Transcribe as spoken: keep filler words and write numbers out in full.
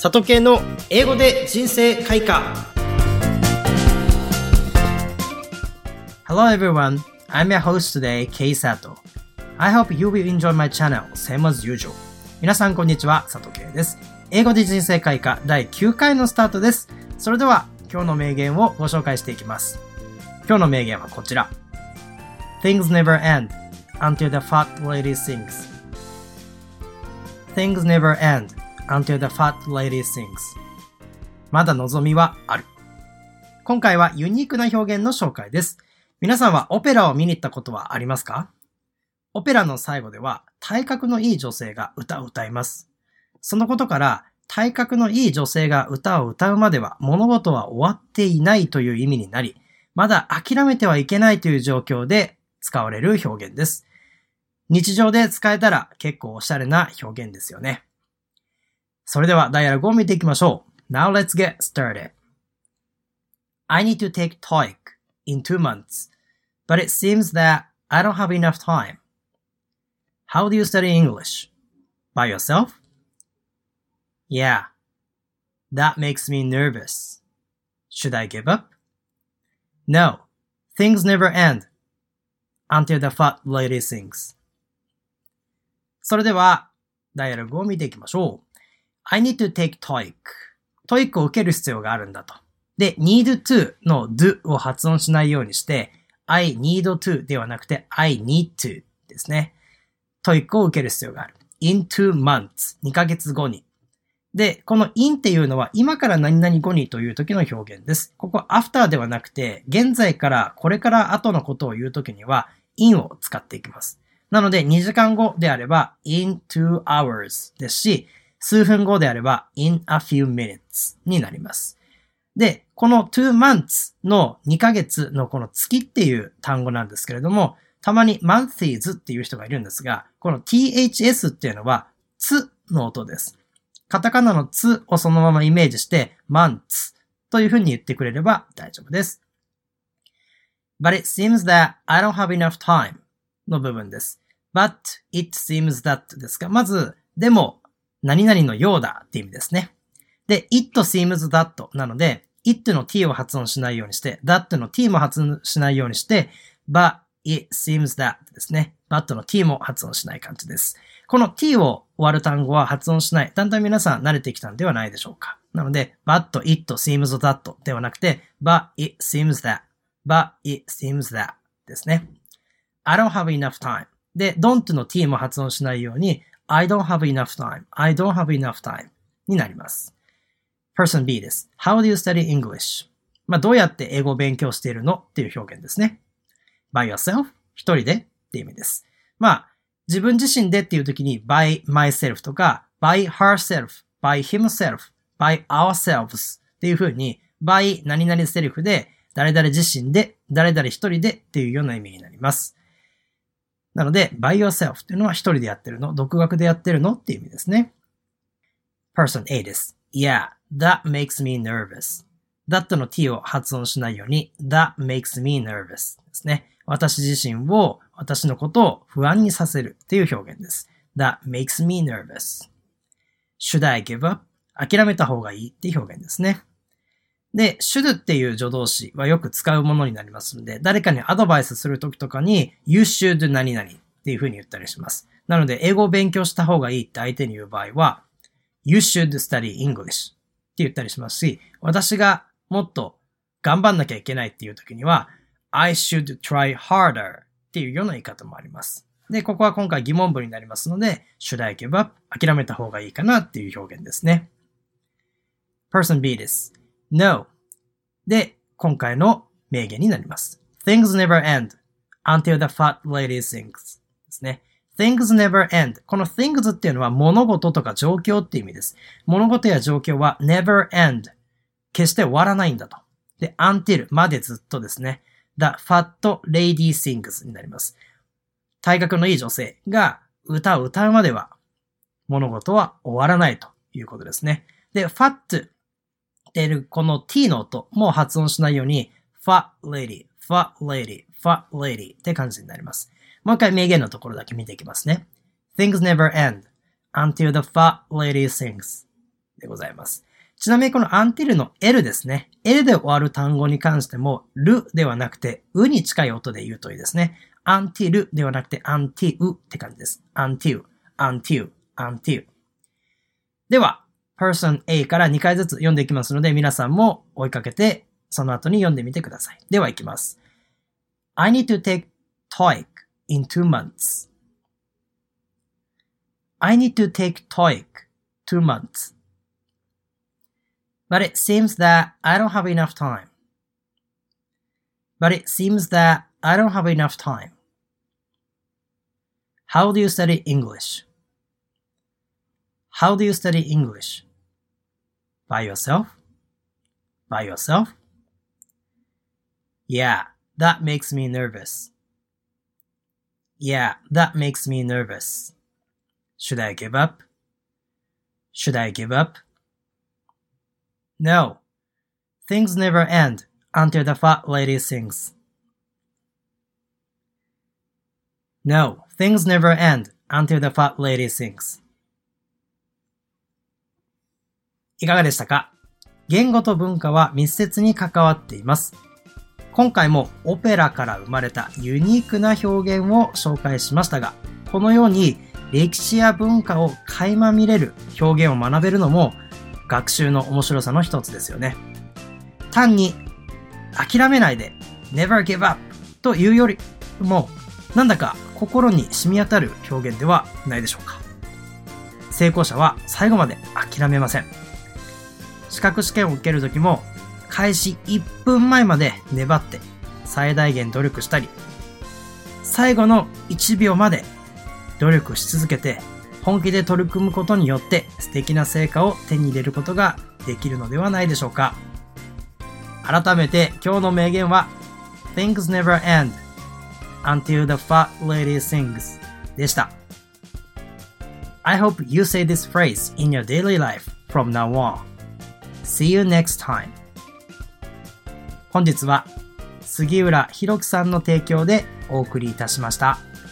佐藤系の英語で人生開花。 Hello everyone, I'm your host today, Kei Sato. I hope you will enjoy my channel, same as usual. 皆さんこんにちは、佐藤圭です。英語で人生開花だいきゅうかいのスタートです。それでは今日の名言をご紹介していきます。今日の名言はこちら。Things never end until the fat lady sings. Things never end until the fat lady sings. まだ望みはある。今回はユニークな表現の紹介です。皆さんはオペラを見に行ったことはありますか？オペラの最後では体格のいい女性が歌を歌います。そのことから体格のいい女性が歌を歌うまでは物事は終わっていないという意味になり、まだ諦めてはいけないという状況で使われる表現です。日常で使えたら結構おしゃれな表現ですよね。それではダイアログを見ていきましょう。Now let's get started. I need to takeトーイック in two months, but it seems that I don't have enough time. How do you study English? By yourself? Yeah. That makes me nervous. Should I give up? No. Things never end until the fat lady sings. それではダイアログを見ていきましょう。I need to take トーイック トーイックを受ける必要があるんだと。で、need to の do を発音しないようにして、I need to ではなくて I need to ですね。トーイックを受ける必要がある。in two months にかげつごに。で、この in っていうのは今から何々後にという時の表現です。ここ after ではなくて、現在からこれから後のことを言う時には in を使っていきます。なのでにじかんごであれば in two hours ですし、数分後であれば in a few minutes になります。で、この two months のにかげつのこの月っていう単語なんですけれども、たまに months っていう人がいるんですが、この ths っていうのはつの音です。カタカナのつをそのままイメージして months というふうに言ってくれれば大丈夫です。But it seems that I don't have enough time の部分です。But it seems that ですが、まず、でも、何々のようだって意味ですね。で、it seems that なので、it の t を発音しないようにして、that の t も発音しないようにして、but it seems that ですね。but の t も発音しない感じです。この t を終わる単語は発音しない。だんだん皆さん慣れてきたんではないでしょうか。なので、but it seems that ではなくて、but it seems that, but it seems that ですね。I don't have enough time. で、don't の t も発音しないように、I don't have enough time. I don't have enough time になります。Person B です。How do you study English? まあ、どうやって英語を勉強しているのっていう表現ですね。By yourself? 一人でっていう意味です。まあ、自分自身でっていう時に by myself とか by herself, by himself, by ourselves っていう風に by 何々セルフで誰々自身で誰々一人でっていうような意味になります。なので、by yourself っていうのは一人でやってるの、独学でやってるのっていう意味ですね。Person A です。Yeah, that makes me nervous. that の t を発音しないように that makes me nervous ですね。私自身を、私のことを不安にさせるっていう表現です。that makes me nervous. Should I give up? 諦めた方がいいっていう表現ですね。で、should っていう助動詞はよく使うものになりますので、誰かにアドバイスするときとかに you should 何々っていう風に言ったりします。なので、英語を勉強した方がいいって相手に言う場合は you should study English って言ったりしますし、私がもっと頑張んなきゃいけないっていうときには I should try harder っていうような言い方もあります。で、ここは今回疑問文になりますので should I give up? 諦めた方がいいかなっていう表現ですね。Person B です。No. で、今回の名言になります。Things never end until the fat lady sings ですね。Things never end. この things っていうのは物事とか状況っていう意味です。物事や状況は never end. 決して終わらないんだと。で、until までずっとですね。The fat lady sings になります。体格のいい女性が歌を歌うまでは物事は終わらないということですね。で、fatこの t の音も発音しないように fat lady, fat lady, fat lady って感じになります。もう一回名言のところだけ見ていきますね。Things never end until the fat lady sings. でございます。ちなみにこの until の L ですね。L で終わる単語に関しても、るではなくて、うに近い音で言うといいですね。until ではなくて until って感じです。until, until, until。では、person A からにかいずつ読んでいきますので、皆さんも追いかけて、その後に読んでみてください。では行きます。I need to takeトーイック in two months. I need to take トーイック two months.But it seems that I don't have enough time. But it seems that I don't have enough time. How do you study English? How do you study English? By yourself? By yourself? Yeah, that makes me nervous. Yeah, that makes me nervous. Should I give up? Should I give up?No. Things never end until the fat lady sings. No, things never end until the fat lady sings. いかがでしたか？言語と文化は密接に関わっています。今回もオペラから生まれたユニークな表現を紹介しましたが、このように歴史や文化を垣間見れる表現を学べるのも学習の面白さの一つですよね。単に諦めないで never give up というよりもなんだか心に染み当たる表現ではないでしょうか。成功者は最後まで諦めません。資格試験を受けるときも開始いっぷんまえまで粘って最大限努力したり、最後のいちびょうまで努力し続けて本気で取り組むことによって素敵な成果を手に入れることができるのではないでしょうか。改めて今日の名言は Things never end until the fat lady sings でした。I hope you say this phrase in your daily life from now on. See you next time. 本日は杉浦弘樹さんの提供でお送りいたしました。